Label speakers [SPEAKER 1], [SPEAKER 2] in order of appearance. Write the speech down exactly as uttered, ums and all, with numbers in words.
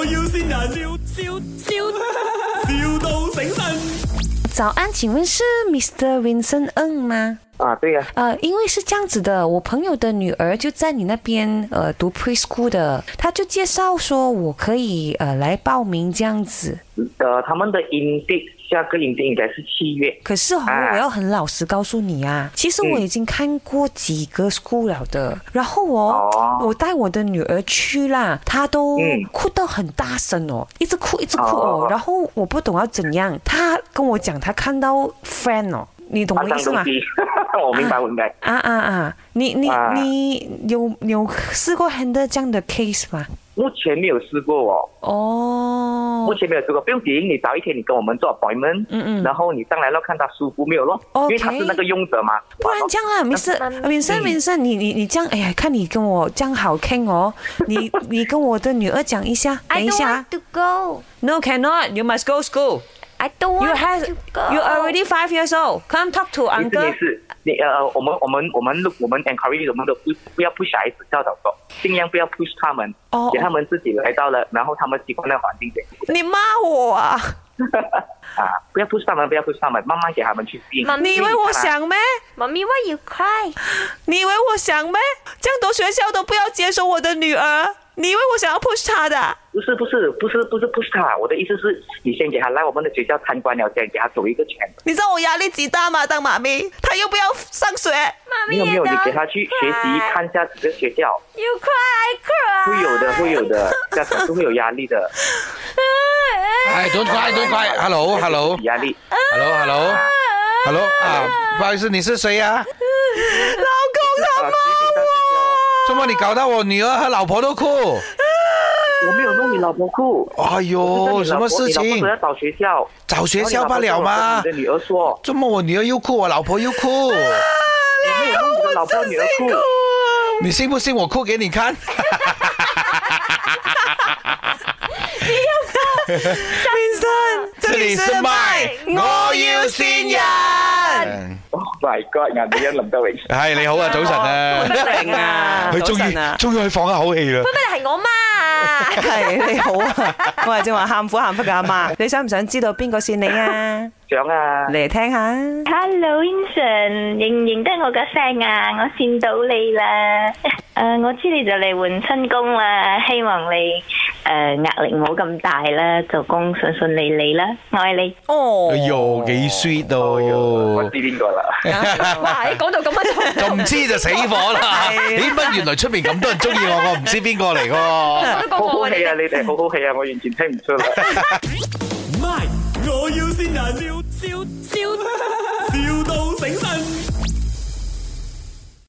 [SPEAKER 1] 要先人，笑笑笑，,笑到醒神。
[SPEAKER 2] 早安，请问是 Mister Vincent Ng 吗？
[SPEAKER 3] 啊，对呀、
[SPEAKER 2] 啊。呃，因为是这样子的，我朋友的女儿就在你那边呃读 preschool 的，她就介绍说我可以呃来报名这样子。
[SPEAKER 3] 呃，他们的营地下个营地应该是七月。
[SPEAKER 2] 可是哦，
[SPEAKER 3] 啊、
[SPEAKER 2] 我要很老实告诉你啊，其实我已经看过几个 school 了的，嗯、然后哦，哦我带我的女儿去啦，她都哭到很大声哦，一直哭一直哭哦，哦然后我不懂要怎样，她跟我讲她看到 friend 哦。你懂我意思吗？
[SPEAKER 3] 我明白，我明白。
[SPEAKER 2] 啊啊啊！你你、啊、你有有试过 handle 这样的 case 吗？
[SPEAKER 3] 目前没有试过哦。
[SPEAKER 2] 哦。
[SPEAKER 3] 目前没有试过，不用紧，你早一天你跟我们做 appointment， 嗯嗯，然后你上来了看他舒服没有咯？ Okay. 因为他是那个用者嘛。
[SPEAKER 2] 不然这样啦，Vincent，Vincent，Vincent，你你你这样，哎呀，看你跟我这样好傾哦，你你跟我的女兒講一下，等一下。
[SPEAKER 4] I don't want to go.
[SPEAKER 2] No, cannot. You must go school.
[SPEAKER 4] I don't want
[SPEAKER 2] you have,
[SPEAKER 4] to go.
[SPEAKER 2] You already five years old. Come talk to uncle.
[SPEAKER 3] 没事，你呃，我们我们我们我们 encourage 我们的不不要 push 小孩子教导说，尽量不要 push 他们，哦，给他们自己来到了，然后他们习惯的环境点。
[SPEAKER 2] 你骂我啊！
[SPEAKER 3] 啊，不要 push 他们，不要 push 他们，慢慢给他们去适应。
[SPEAKER 2] 你以为我想咩？
[SPEAKER 4] 妈咪 why you cry？
[SPEAKER 2] 你以为我想咩？这样多学校都不要接收我的女儿。你以为我想要 push 他的？
[SPEAKER 3] 不是不是不是不是 push 他，我的意思是，你先给他来我们的学校参观了，先给他走一个圈。
[SPEAKER 2] 你知道我压力几大吗？当妈咪，他又不要上学。
[SPEAKER 4] 妈咪
[SPEAKER 3] 没有没有，你给他去学习，看一下几个学校。
[SPEAKER 4] You cry, I cry。
[SPEAKER 3] 会有的会有的，家长是会有压力的。
[SPEAKER 5] 哎 ，don't cry, don't cry. Hello, hello.
[SPEAKER 3] 压力。
[SPEAKER 5] Hello, hello, hello. 啊，不好意思，你是谁呀？
[SPEAKER 2] 老公他骂我。
[SPEAKER 5] 怎么你搞到我女儿和老婆都哭？
[SPEAKER 3] 我没有弄你老婆哭。
[SPEAKER 5] 哎呦，什么事情？
[SPEAKER 3] 你老婆要找学校。
[SPEAKER 5] 找学校罢了吗？
[SPEAKER 3] 你的女儿说。
[SPEAKER 5] 怎么我女儿又哭，我老婆又哭？
[SPEAKER 3] 我没有弄你的老婆女儿哭。
[SPEAKER 5] 你信不信我哭给你看？
[SPEAKER 4] 你要哭
[SPEAKER 2] ？Vincent，这里是麦，我要線人。
[SPEAKER 3] Oh my god！ 顏美欣林德榮，
[SPEAKER 5] 係你好啊，早晨啊，
[SPEAKER 2] 好得明啊，
[SPEAKER 5] 佢終於終於可以放一口氣啦。
[SPEAKER 4] 乜乜係我媽？
[SPEAKER 2] 係你好啊，我係正話喊苦喊忽嘅阿媽，你想唔想知道邊個線你啊？
[SPEAKER 3] 想啊，
[SPEAKER 2] 嚟聽下。
[SPEAKER 6] Hello Vincent， 認唔認得我嘅聲啊？我線到你啦。誒，我知你就嚟換新工啦，希望你誒壓力唔好咁大啦，做工順順利利啦，愛你。
[SPEAKER 2] 哦，
[SPEAKER 5] 哎呦，幾 sweet 到，
[SPEAKER 3] 我知邊個啦。
[SPEAKER 4] 哇，你講到咁樣
[SPEAKER 5] 就唔知就死火啦。咦，乜原來出面咁多人中意我，我唔知邊個嚟㗎。
[SPEAKER 3] 好好氣啊！你哋好好氣啊！我完全聽唔出啦。
[SPEAKER 1] My， 我要先人，笑笑笑。